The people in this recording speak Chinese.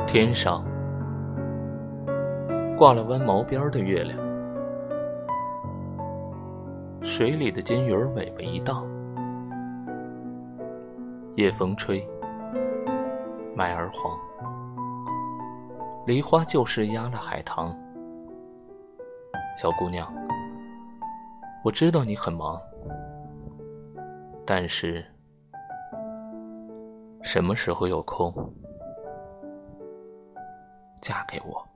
天上挂了弯毛边的月亮，水里的金鱼儿尾巴一荡，夜风吹，麦儿黄，梨花就是压了海棠。小姑娘，我知道你很忙，但是什么时候有空，嫁给我。